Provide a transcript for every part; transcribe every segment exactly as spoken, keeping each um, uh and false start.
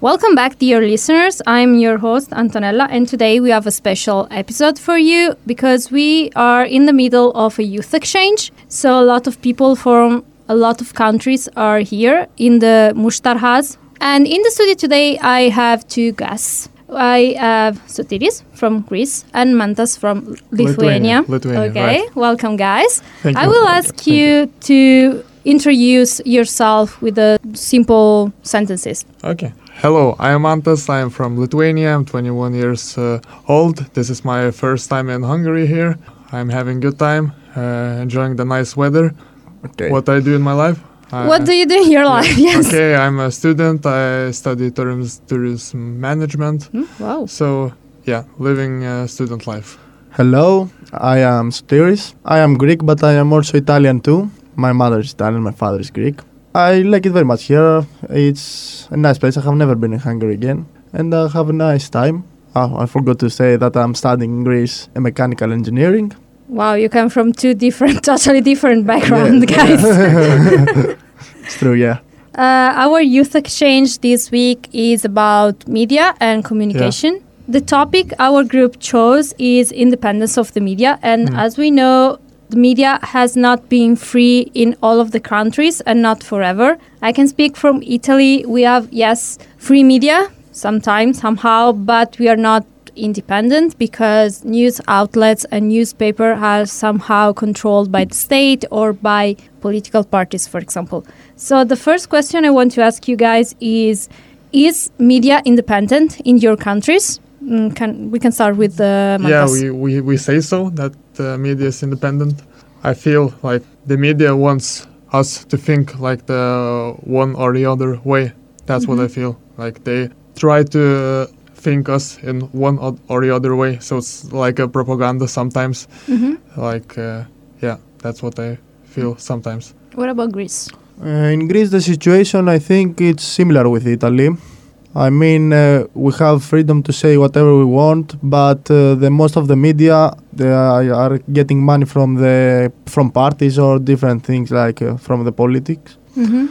Welcome back, dear listeners. I'm your host, Antonella, and today we have a special episode for you because we are in the middle of a youth exchange. So a lot of people from a lot of countries are here in the Mushtarhaz. And in the studio today, I have two guests. I have Sotiris from Greece and Mantas from Lithuania. Lithuania, Lithuania okay, right. Welcome, guys. Thank I you. will ask Thank you, you to introduce yourself with a simple sentences. Okay. Hello, I am Mantas. I am from Lithuania. I'm twenty-one years uh, old. This is my first time in Hungary here. I'm having a good time, uh, enjoying the nice weather. Okay. What I do in my life? I, What do you do in your life? Yes. Okay, I'm a student. I study tourism, tourism management. Hmm, wow. So, yeah, living uh, student life. Hello, I am Sotiris. I am Greek, but I am also Italian too. My mother is Italian, my father is Greek. I like it very much here. It's a nice place. I have never been in Hungary again. And I have a nice time. Oh, I forgot to say that I'm studying in Greece a mechanical engineering. Wow, you come from two different, totally different backgrounds, Yeah. guys. It's true, yeah. Uh, our youth exchange this week is about media and communication. The topic our group chose is independence of the media. And Mm. as we know, the media has not been free in all of the countries and not forever. I can speak from Italy. We have, yes, free media sometimes, somehow, but we are not independent because news outlets and newspaper are somehow controlled by the state or by political parties, for example. So the first question I want to ask you guys is, is media independent in your countries? Mm, can, we can start with uh, Yeah, Mantas. we, we, we say so, that the media is independent. I feel like the media wants us to think like the one or the other way. That's Mm-hmm. what I feel. Like they try to think us in one o- or the other way. So it's like a propaganda sometimes. Mhm. Like, uh, yeah, that's what I feel sometimes. What about Greece? Uh, in Greece, the situation, I think it's similar with Italy. I mean, uh, we have freedom to say whatever we want, but uh, the most of the media they are, are getting money from the from parties or different things like uh, from the politics. Mm-hmm.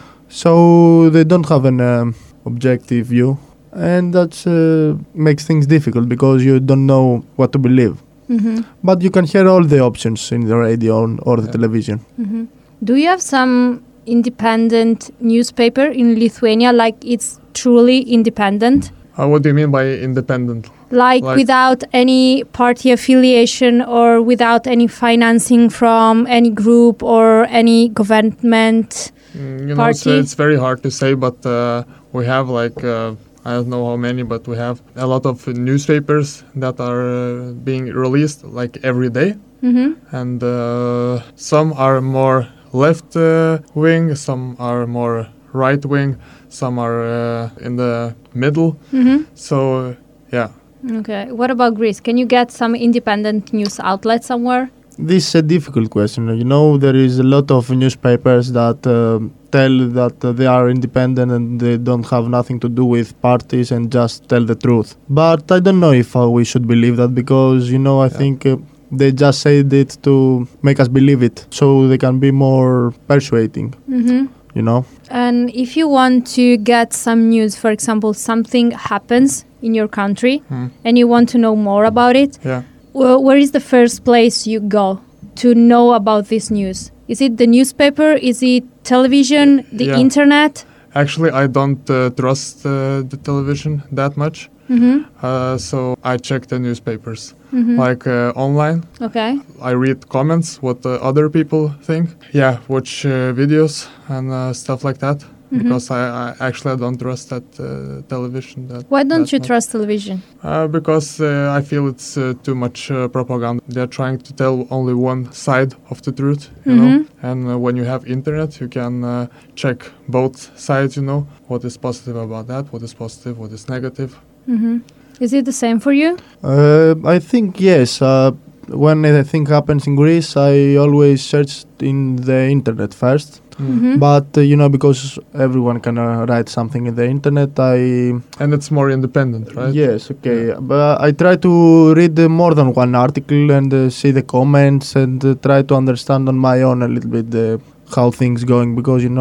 So they don't have an um, objective view, and that uh, makes things difficult because you don't know what to believe. Mm-hmm. But you can hear all the options in the radio or the Yeah. television. Mm-hmm. Do you have some independent newspaper in Lithuania, like it's truly independent? Uh, what do you mean by independent? Like, Like- without any party affiliation or without any financing from any group or any government? Mm, you know, it's, Party? it's very hard to say, but uh, we have like, uh, I don't know how many, but we have a lot of newspapers that are uh, being released like every day. Mm-hmm. And uh, some are more left uh, wing, some are more right wing, some are uh, in the middle. Mm-hmm. So, yeah. Okay. What about Greece? Can you get some independent news outlet somewhere? This is a difficult question. You know, there is a lot of newspapers that uh, tell that uh, they are independent and they don't have nothing to do with parties and just tell the truth. But I don't know if uh, we should believe that because, you know, I Yeah. think uh, they just said it to make us believe it so they can be more persuading, Mm-hmm. you know. And if you want to get some news, for example, something happens in your country Hmm. and you want to know more about it, Yeah. well, where is the first place you go to know about this news? Is it the newspaper? Is it television? The Yeah. internet? Actually, I don't uh, trust uh, the television that much. Mm-hmm. Uh, so I check the newspapers. Mm-hmm. Like uh, online, Okay. I read comments, what uh, other people think. Yeah, watch uh, videos and uh, stuff like that. Mhm. Because I, I actually I don't trust that uh, television. That Why don't that you much. trust television? Uh, because uh, I feel it's uh, too much uh, propaganda. They're trying to tell only one side of the truth, you know. Mhm. And uh, when you have internet, you can uh, check both sides. You know what is positive about that, what is positive, what is negative. Mm-hmm. Is it the same for you? Uh, I think yes. Uh, when anything happens in Greece, I always search in the internet first. Mhm. But uh, you know, because everyone can uh, write something in the internet, I And it's more independent, right? yes, okay. But I try to read uh, more than one article and uh, see the comments and uh, try to understand on my own a little bit uh, how things going because you know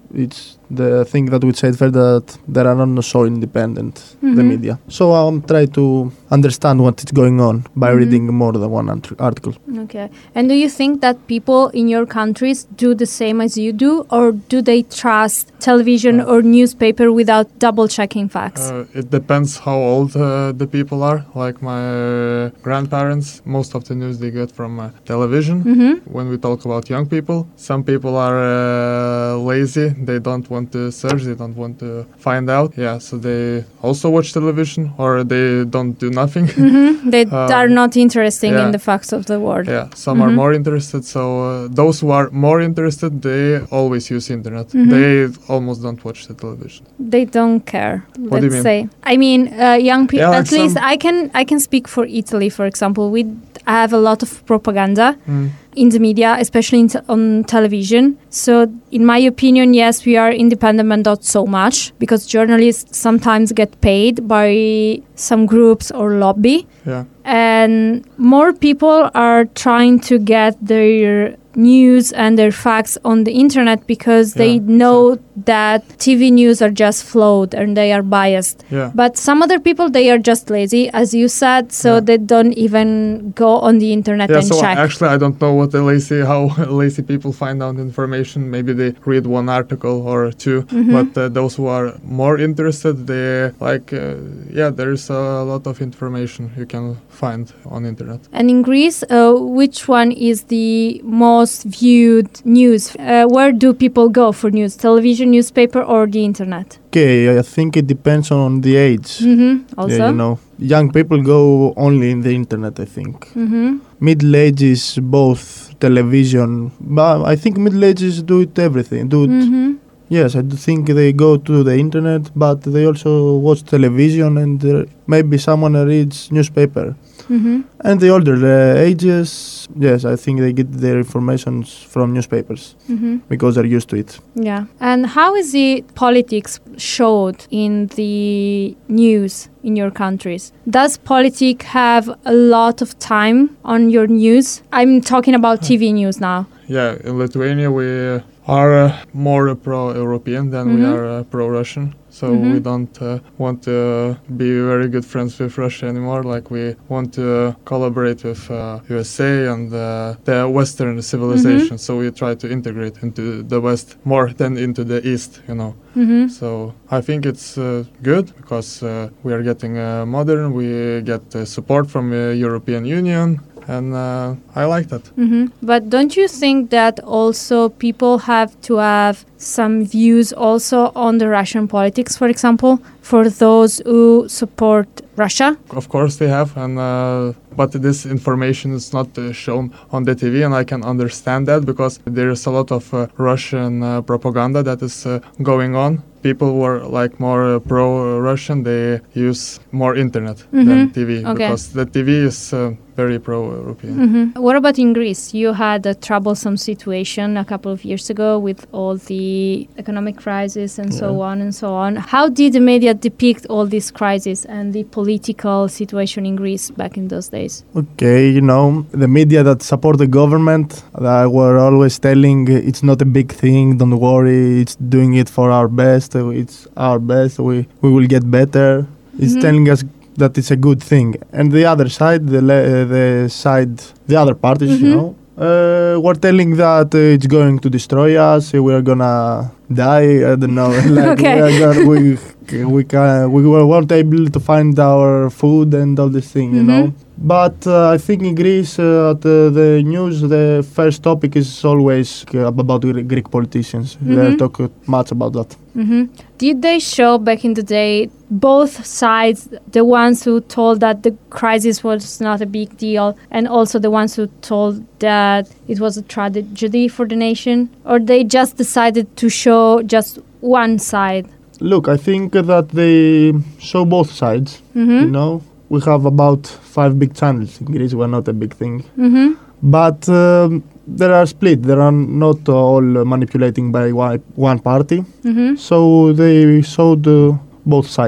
It's the thing that we said first, that they are not so independent, Mhm. the media. So I'm trying to understand what is going on by Mhm. reading more than one art- article. Okay. And do you think that people in your countries do the same as you do, or do they trust television Uh, or newspaper without double checking facts? Uh, it depends how old uh, the people are. Like my uh, grandparents, most of the news they get from uh, television. Mm-hmm. When we talk about young people, some people are uh, lazy. They don't want to search. They don't want to find out. Yeah, so they also watch television, or they don't do nothing. Mm-hmm. They Uh, are not interested yeah. in the facts of the world. Yeah, some are Mhm. more interested. So uh, those who are more interested, they always use internet. Mhm. They almost don't watch the television. They don't care. What do you let's mean? say. I mean, uh, young people. Yeah, like at least some- I can I can speak for Italy, for example. We have a lot of propaganda Mm. in the media, especially in t- on television. So, in my opinion, yes, we are independent, but not so much, because journalists sometimes get paid by some groups or lobby, Yeah. and more people are trying to get their news and their facts on the internet because they Yeah, know that T V news are just flawed and they are biased. Yeah. But some other people, they are just lazy, as you said, so Yeah. they don't even go on the internet Yeah, and so check. actually I don't know what the lazy, how lazy people find out information. Maybe they read one article or two, Mhm. but uh, those who are more interested, they like, uh, yeah, there's a lot of information you can find on internet. And in Greece, uh, which one is the most viewed news? Uh, where do people go for news? Television, newspaper, or the internet? Okay, I think it depends on the age. Mm-hmm. Also. Yeah, you know, young people go only in the internet, I think. Mm-hmm. Middle ages, both television, but I think middle ages do it everything. Do it. Mm-hmm. Yes, I do think they go to the internet, but they also watch television, and uh, maybe someone reads newspaper. Mm-hmm. And the older uh, ages, yes, I think they get their information from newspapers Mm-hmm. because they're used to it. Yeah. And how is the politics showed in the news in your countries? Does politics have a lot of time on your news? I'm talking about T V news now. Yeah, in Lithuania we are uh, more pro-European than we Mhm. are uh, pro-Russian. So Mhm. we don't uh, want to be very good friends with Russia anymore. Like we want to collaborate with uh, U S A and uh, the Western civilization. So we try to integrate into the West more than into the East, you know. Mm-hmm. So I think it's uh, good because uh, we are getting uh, modern. We get uh, support from the European Union. And uh, I like that. Mm-hmm. But don't you think that also people have to have some views also on the Russian politics, for example, for those who support Russia? Of course they have, and uh, but this information is not uh, shown on the T V, and I can understand that because there is a lot of uh, Russian uh, propaganda that is uh, going on. People who are like more uh, pro-Russian, they use more internet Mhm. than T V Okay. because the T V is uh, very pro-European. Mm-hmm. What about in Greece? You had a troublesome situation a couple of years ago with all the economic crisis and so Yeah. on and so on. How did the media depict all these crises and the political situation in Greece back in those days? Okay, you know, the media that support the government, that were always telling uh, it's not a big thing, don't worry, it's doing it for our best, uh, it's our best, we, we will get better. It's Mhm. telling us that it's a good thing. And the other side, the le- uh, the side, the other parties, Mhm. you know, uh, were telling that uh, it's going to destroy us, uh, we're gonna die, I don't know, like Okay. we, are gonna, we, we, can, we weren't able to find our food and all this thing, you Mhm. know. But uh, I think in Greece, uh, at uh, the news, the first topic is always uh, about Gre- Greek politicians. They Mhm. talk uh, much about that. Mm-hmm. Did they show back in the day both sides, the ones who told that the crisis was not a big deal and also the ones who told that it was a tragedy for the nation? Or they just decided to show just one side? Look, I think that they show both sides, Mm-hmm. you know. We have about five big channels in Greece. We're not a big thing. Mm-hmm. But um, there are split. They are not all manipulating by one, one party. Mm-hmm. So they showed uh, both sides.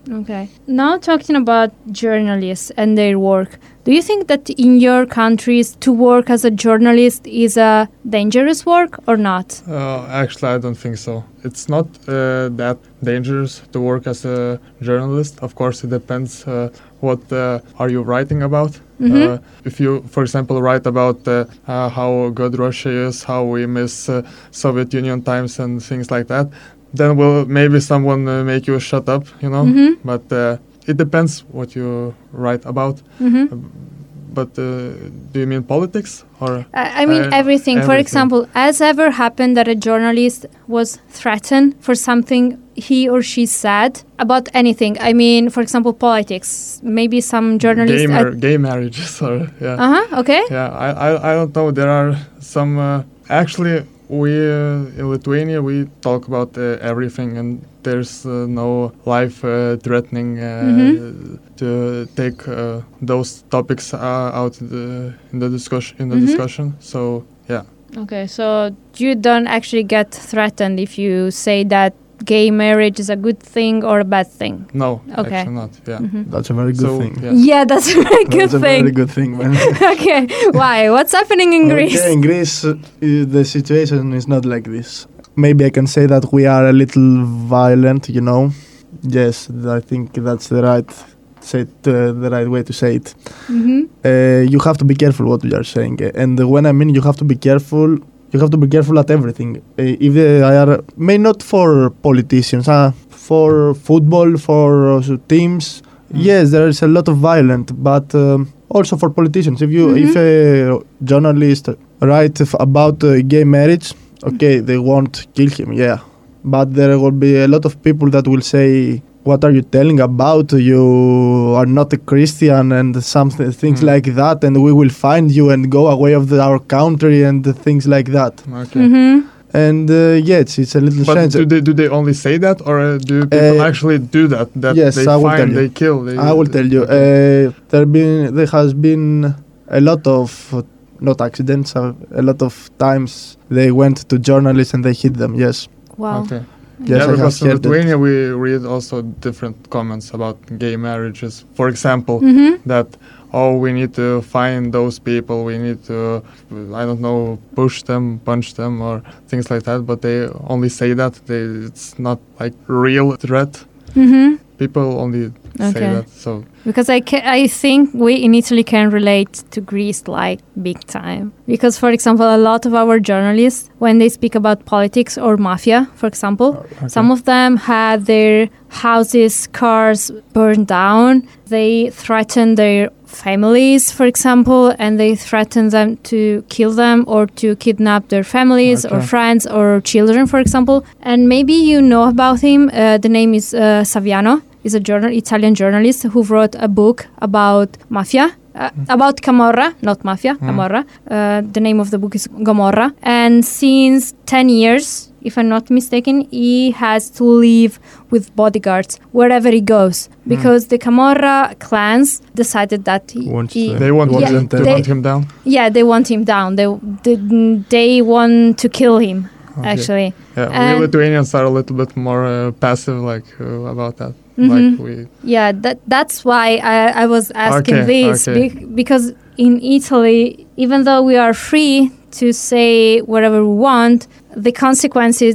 Okay. Now talking about journalists and their work, do you think that in your countries to work as a journalist is a dangerous work or not? Uh, actually, I don't think so. It's not uh, that dangerous to work as a journalist. Of course, it depends uh, what uh, are you writing about. Mm-hmm. Uh, if you, for example, write about uh, uh, how good Russia is, how we miss uh, Soviet Union times and things like that, then will maybe someone uh, make you shut up, you know. Mm-hmm. But uh, it depends what you write about. Mm-hmm. Uh, but uh, do you mean politics or? I I mean Uh, everything. For everything. example, has ever happened that a journalist was threatened for something he or she said about anything? I mean, for example, politics. Maybe some journalists. Gay, mar- gay marriages or yeah. Uh huh. Okay. Yeah, I, I, I don't know. There are some. Uh, actually, we uh, in Lithuania we talk about uh, everything, and there's uh, no life-threatening uh, Mhm. to take uh, those topics uh, out in the, in the discussion. In the Mhm. discussion, so yeah. Okay. So you don't actually get threatened if you say that gay marriage is a good thing or a bad thing. No, Okay. actually not. Yeah. Mhm. That's a very good So thing. yeah. Yeah, that's a very good That's a thing. very good thing, man. Okay. Why? What's happening in Greece? Okay, in Greece, uh, the situation is not like this. Maybe I can say that we are a little violent, you know. Yes, I think that's the right, say it, uh, the right way to say it. Mm-hmm. Uh, you have to be careful what you are saying, uh, and when I mean you have to be careful, you have to be careful at everything. Uh, if they are, may not for politicians, uh, for football, for uh, teams. Mm. Yes, there is a lot of violence, but um, also for politicians. If you, Mhm. if a journalist write f- about uh, gay marriage, okay, they won't kill him, yeah, but there will be a lot of people that will say, "What are you telling about? You are not a Christian," and some th- things Mm. like that, and we will find you and go away of the, our country and things like that. Okay. Mm-hmm. And uh, yes, it's a little But strange. do they do they only say that, or uh, do people Uh, actually do that? That yes, they I will tell find, you. they kill. They, I will tell you. Okay. Uh, there been there has been a lot of uh, not accidents. Uh, a lot of times they went to journalists and they hit them. Yes. Wow. Okay. Yes, yeah, I have because in heard that. Lithuania we read also different comments about gay marriages. For example, Mm-hmm. that oh, we need to find those people. We need to, I don't know, push them, punch them, or things like that. But they only say that. They, it's not like real threat. Mm-hmm. People only say Okay. that. So Because I, ca- I think we in Italy can relate to Greece like big time. Because, for example, a lot of our journalists, when they speak about politics or mafia, for example, okay. some of them had their houses, cars burned down. They threatened their families, for example, and they threatened them to kill them or to kidnap their families or Okay. friends or children, for example. And maybe you know about him. Uh, the name is uh, Saviano. He's a journal, Italian journalist who wrote a book about mafia. Uh, about Camorra, not mafia, Mm. Camorra. Uh, the name of the book is Gomorra. And since ten years, if I'm not mistaken, he has to live with bodyguards wherever he goes because the Camorra clans decided that he, Wants he- to- They want, Yeah, him, they they- want him down. yeah, they want him down. They they, they want to kill him. Okay. Actually, Yeah, And- we Lithuanians are a little bit more uh, passive, like uh, about that. Mhm. Like we, yeah, that that's why I, I was asking Okay, this okay. be- because in Italy, even though we are free to say whatever we want, the consequences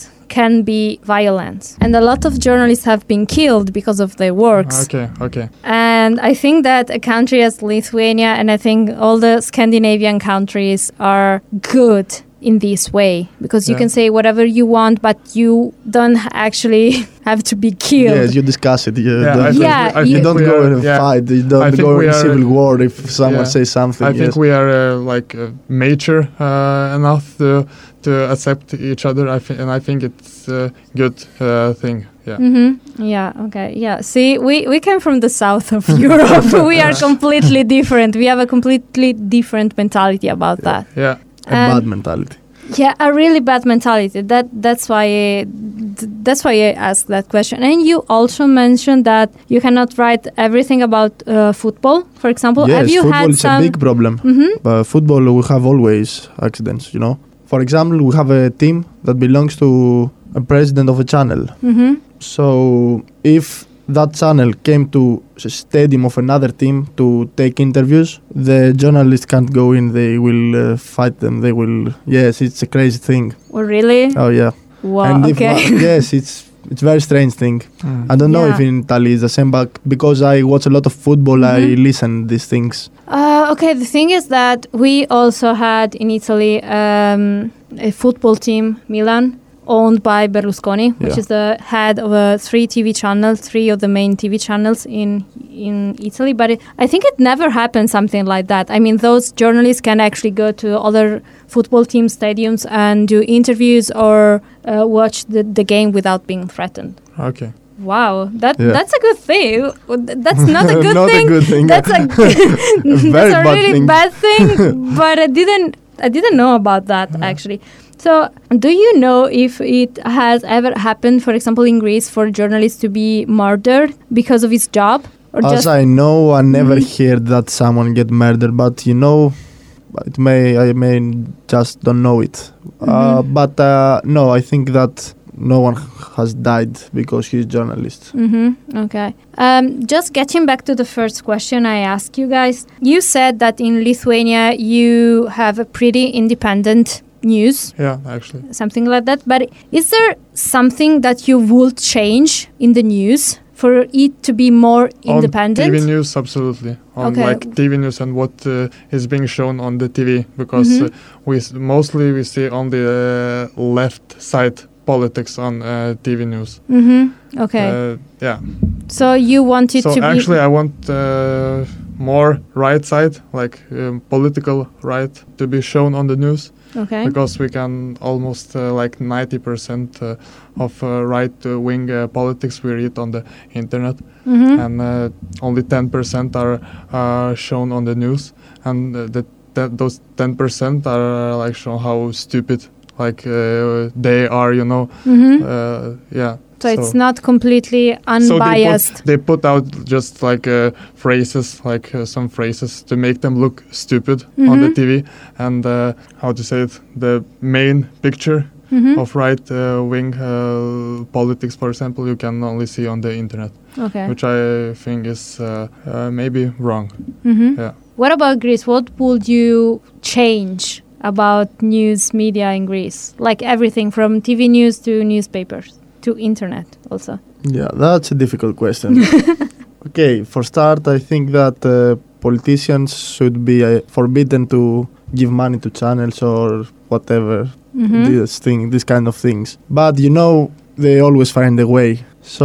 can be violent, and a lot of journalists have been killed because of their works. okay, okay. And I think that a country as Lithuania, and I think all the Scandinavian countries are good in this way because you Yeah. can say whatever you want, but you don't actually have to be killed. Yes, you discuss it. You Yeah, I don't, think Yeah, we, I you- you think don't we go are, in a yeah, fight. You I don't think go we in are- civil war if someone yeah. says something. I yes. think we are uh, like uh, mature uh, enough to to accept each other. I think, and I think it's a good uh, thing. Yeah. Mm-hmm. Yeah. Okay. Yeah. See, we, we came from the south of Europe. We are completely different. We have a completely different mentality about that. Yeah. a And- bad mentality. Yeah, a really bad mentality. That that's why I, th- that's why I asked that question. And you also mentioned that you cannot write everything about uh, football, for example. Yes, have you football had is some? a big problem. Mm-hmm. But football, we have always accidents, you know. For example, we have a team that belongs to a president of a channel. Mm-hmm. So if that channel came to a stadium of another team to take interviews, the journalists can't go in. They will uh, fight them. They will. Yes, it's a crazy thing. Oh, really? Oh yeah. Wow. And if Okay. one- yes, it's it's very strange thing. Mm. I don't know Yeah. if in Italy it's the same, but because I watch a lot of football, I Mhm. listen these things. Uh, okay, the thing is that we also had in Italy um, a football team, Milan, owned by Berlusconi, which Yeah. is the head of uh, three T V channels, three of the main T V channels in in Italy. But it, I think it never happened something like that. I mean, those journalists can actually go to other football team stadiums and do interviews or uh, watch the, the game without being threatened. Okay. Wow, that Yeah. that's a good thing. That's not a good Not a thing. good thing. That's a very that's a bad really thing. bad thing. But I didn't I didn't know about that actually. So, do you know if it has ever happened, for example, in Greece, for journalists to be murdered because of his job, or As just I know, I never Mhm. heard that someone get murdered, but you know, it may I may just don't know it. Uh, Mhm. but uh, no, I think that no one has died because he's journalist. Mm-hmm. Okay. Um, just getting back to the first question I asked you guys, you said that in Lithuania you have a pretty independent news, Yeah, actually. something like that. But is there something that you would change in the news for it to be more independent? On T V news, absolutely. On Okay. like T V news and what uh, is being shown on the T V, because Mhm. uh, we s- mostly we see on the uh, left side politics on uh, T V news. Mm-hmm. Okay. Uh, yeah. so you want it So to be... actually, I want uh, more right side, like um, political right, to be shown on the news, Okay. because we can almost uh, like ninety percent uh, of uh, right-wing uh, politics we read on the internet, Mm-hmm. and uh, only ten percent are uh, shown on the news, and uh, the, that those ten percent are uh, like shown how stupid like uh, they are, you know. Mm-hmm. Uh, yeah. So, it's not completely unbiased. So they put, they put out just like uh, phrases, like uh, some phrases to make them look stupid on the Mhm. T V, and uh, how to say it, the main picture Mhm. of right-wing uh, politics, for example, you can only see on the internet, Okay. which I think is uh, uh, maybe wrong. Mm-hmm. Yeah. What about Greece? What would you change about news media in Greece? Like everything from T V news to newspapers to internet also. Yeah, that's a difficult question. Okay, for start, I think that uh, politicians should be uh, forbidden to give money to channels or whatever, Mm-hmm. this thing, this kind of things. But you know, they always find a way.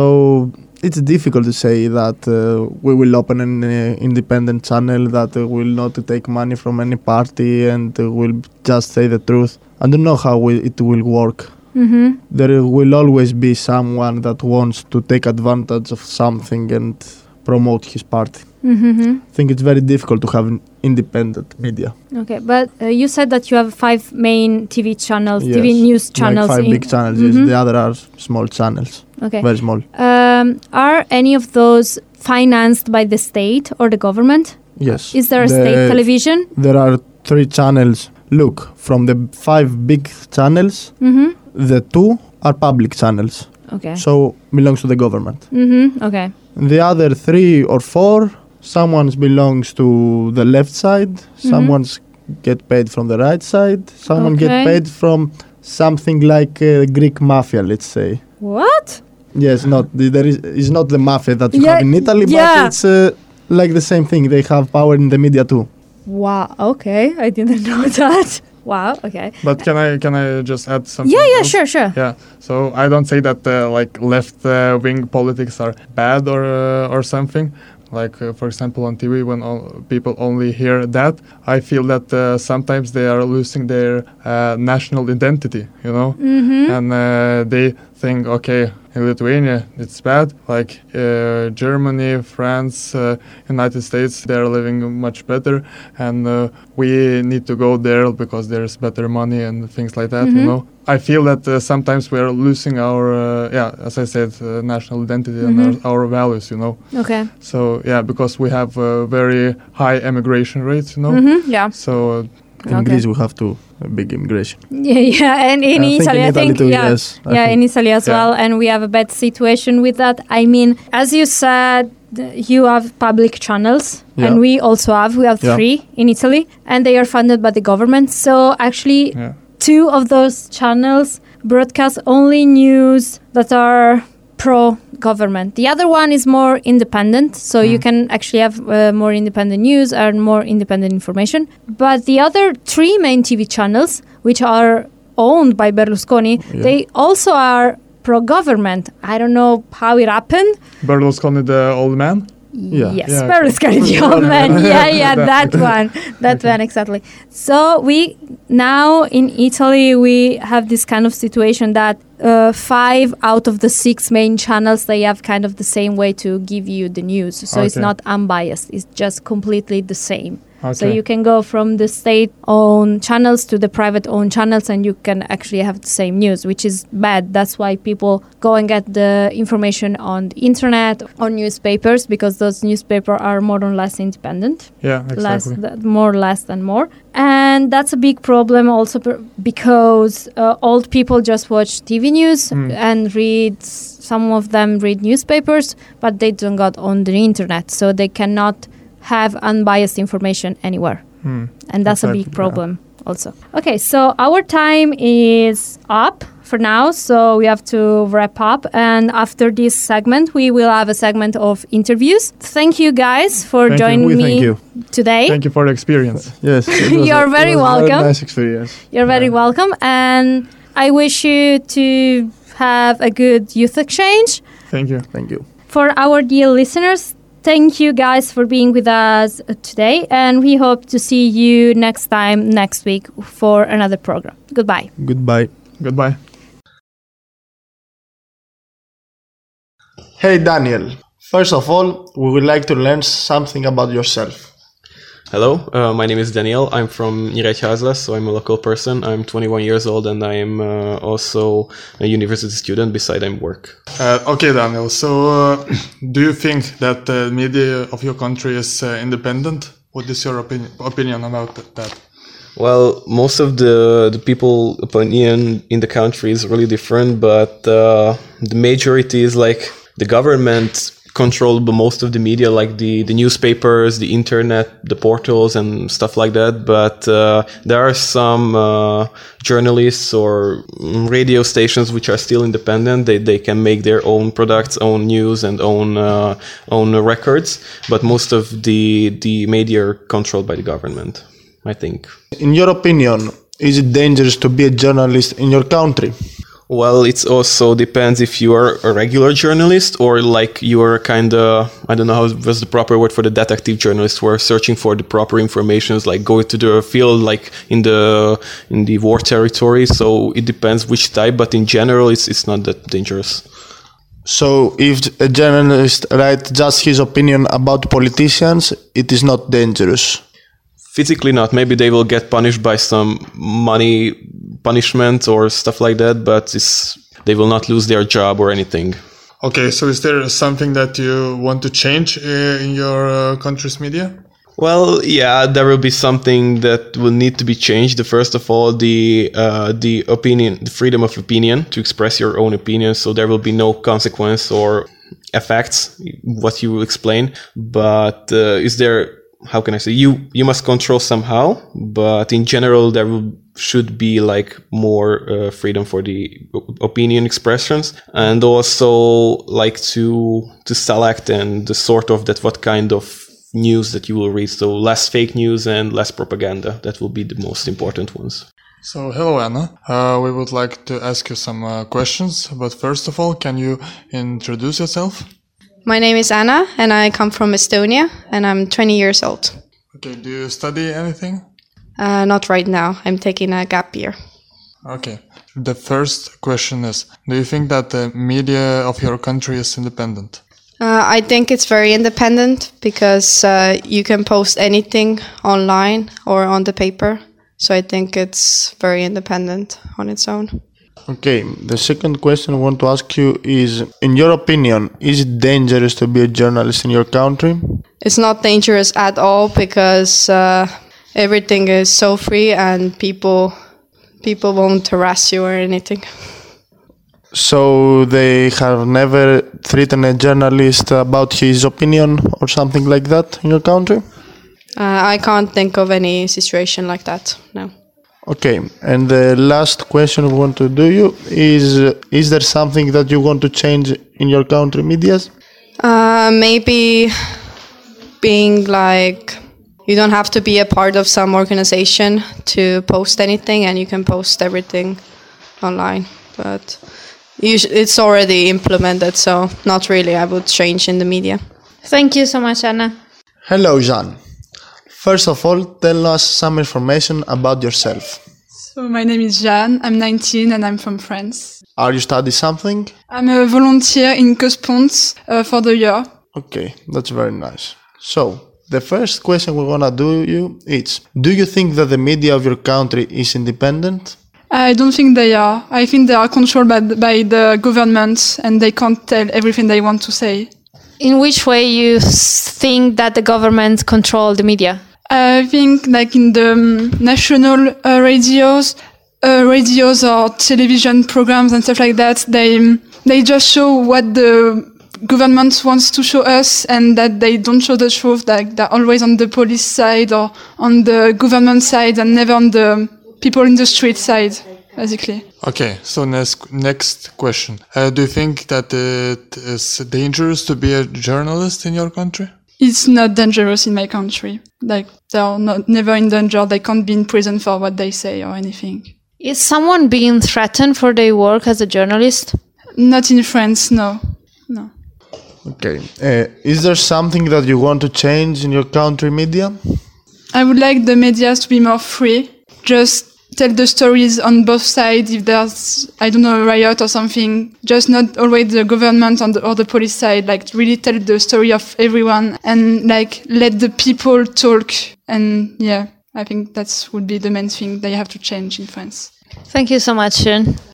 So it's difficult to say that uh, we will open an uh, independent channel that uh, will not take money from any party and uh, will just say the truth. I don't know how we, it will work. Mm-hmm. There will always be someone that wants to take advantage of something and promote his party. Mm-hmm. I think it's very difficult to have an independent media. Okay, but uh, you said that you have five main T V channels, T V Yes, news channels. Like five in- big channels, Mhm. yes. The other are small channels, Okay. very small. Um, are any of those financed by the state or the government? Yes. Is there a The- state television? There are three channels. Look, from the five big channels, Mm-hmm. the two are public channels, Okay. so belongs to the government. Mm-hmm. Okay. The other three or four, someone's belongs to the left side, Mm-hmm. someone's get paid from the right side, someone Okay. get paid from something like uh, Greek mafia, let's say. What? Yes, not the- there is is not the mafia that you Yeah, have in Italy, yeah. but it's uh, like the same thing. They have power in the media too. Wow. Okay, I didn't know that. Wow. Okay. But can I can I just add something? Yeah. Yeah. else? Sure. Sure. Yeah, so I don't say that uh, like left-wing politics are bad or uh, or something. Like uh, for example on T V, when all people only hear that, I feel that uh, sometimes they are losing their uh, national identity, you know, Mm-hmm. and uh, they think, okay, in Lithuania it's bad. Like uh, Germany, France, uh, United States, they are living much better, and uh, we need to go there because there's better money and things like that, Mhm. you know. I feel that uh, sometimes we are losing our, uh, yeah, as I said, uh, national identity and Mhm. our, our values, you know. Okay. So yeah, because we have uh, very high immigration rates, you know. Mm-hmm. Yeah. So uh, In Okay. Greece, we have to a big immigration. Yeah, yeah, and in I think Italy, in I Italy think, too, yeah, yes, I yeah, think. in Italy as Yeah. well, and we have a bad situation with that. I mean, as you said, th- you have public channels, Yeah. and we also have. We have Yeah. three in Italy, and they are funded by the government. So actually, Yeah. two of those channels broadcast only news that are pro-government. The other one is more independent, so you Mm. can actually have uh, more independent news and more independent information. But the other three main T V channels, which are owned by Berlusconi, Yeah. they also are pro-government. I don't know how it happened. Berlusconi, the old man. Yeah. Yes, Yeah, Berlusconi, the old man. Yeah, yeah, that one. That one, exactly. So we, now in Italy, we have this kind of situation that uh, five out of the six main channels, they have kind of the same way to give you the news. So it's Okay. not unbiased. It's just completely the same. So Okay. you can go from the state-owned channels to the private-owned channels, and you can actually have the same news, which is bad. That's why people go and get the information on the internet or newspapers, because those newspapers are more or less independent, Yeah, less, exactly. th- more or less than more. And that's a big problem also per- because uh, old people just watch T V news Mm. and read. Some of them read newspapers, but they don't got on the internet, so they cannot have unbiased information anywhere. Hmm. And that's a Exactly, big yeah. problem also. Okay, so our time is up for now, so we have to wrap up. And after this segment, we will have a segment of interviews. Thank you guys for Thank you. joining We me thank you. today. Thank you for the experience. Yes. it was You're a- very it was a welcome. nice experience. You're very Yeah. welcome. And I wish you to have a good youth exchange. Thank you. Thank you. For our dear listeners, thank you guys for being with us uh, today, and we hope to see you next time next week for another program. Goodbye. Goodbye. Goodbye. Hey Daniel. First of all, we would like to learn something about yourself. Hello, uh, my name is Daniel. I'm from Nyíregyháza, so I'm a local person. I'm twenty-one years old and I'm uh, also a university student beside I'm work. Uh, okay, Daniel. So, uh, do you think that the media of your country is uh, independent? What is your opinion opinion about th- that? Well, most of the, the people opinion in the country is really different, but uh, the majority is like the government control most of the media, like the, the newspapers, the internet, the portals and stuff like that. But uh, there are some uh, journalists or radio stations which are still independent. They they can make their own products, own news and own uh, own records. But most of the the media are controlled by the government, I think. In your opinion, is it dangerous to be a journalist in your country? Well, it also depends if you are a regular journalist or like you are kind of, I don't know how was the proper word for the detective journalist who are searching for the proper informations, like go to the field, like in the in the war territory. So it depends which type, but in general, it's it's not that dangerous. So if a journalist writes just his opinion about politicians, it is not dangerous. Physically not. Maybe they will get punished by some money punishment or stuff like that, but it's, they will not lose their job or anything. Okay, so is there something that you want to change uh, in your uh, country's media? Well, yeah, there will be something that will need to be changed. The first of all, the uh, the opinion, the freedom of opinion to express your own opinion. So there will be no consequence or effects what you will explain. But uh, is there? How can I say? You you must control somehow. But in general, there will should be like more uh, freedom for the opinion expressions, and also like to to select and the sort of that what kind of news that you will read. So less fake news and less propaganda. That will be the most important ones. So, hello, Anna. Uh, we would like to ask you some uh, questions, but first of all, can you introduce yourself? My name is Anna and I come from Estonia and I'm twenty years old. Okay, do you study anything? Uh, not right now. I'm taking a gap year. Okay. The first question is, do you think that the media of your country is independent? Uh, I think it's very independent because uh, you can post anything online or on the paper. So I think it's very independent on its own. Okay, the second question I want to ask you is, in your opinion, is it dangerous to be a journalist in your country? It's not dangerous at all because uh, everything is so free and people people won't harass you or anything. So they have never threatened a journalist about his opinion or something like that in your country? Uh, I can't think of any situation like that, no. Okay, and the last question we want to do you is, uh, is there something that you want to change in your country medias? Uh, maybe being like, you don't have to be a part of some organization to post anything, and you can post everything online. But it's already implemented, so not really I would change in the media. Thank you so much, Anna. Hello, Jean. First of all, tell us some information about yourself. So my name is Jeanne, I'm nineteen and I'm from France. Are you studying something? I'm a volunteer in Cosponds uh, for the year. Okay, that's very nice. So, the first question we want to do you is, do you think that the media of your country is independent? I don't think they are. I think they are controlled by the, by the government and they can't tell everything they want to say. In which way you think that the government control the media? I think like in the um, national uh, radios, uh, radios or television programs and stuff like that, they they just show what the government wants to show us, and that they don't show the truth. Like they're always on the police side or on the government side, and never on the people in the street side, basically. Okay, so next next question. Uh, do you think that it is dangerous to be a journalist in your country? It's not dangerous in my country. Like, they're not, never in danger. They can't be in prison for what they say or anything. Is someone being threatened for their work as a journalist? Not in France, no. No. Okay. Uh, is there something that you want to change in your country media? I would like the media to be more free. Just tell the stories on both sides. If there's, I don't know, a riot or something, just not always the government on the, or the police side. Like, really tell the story of everyone and like let the people talk. And yeah, I think that would be the main thing they have to change in France. Thank you so much, Sharon.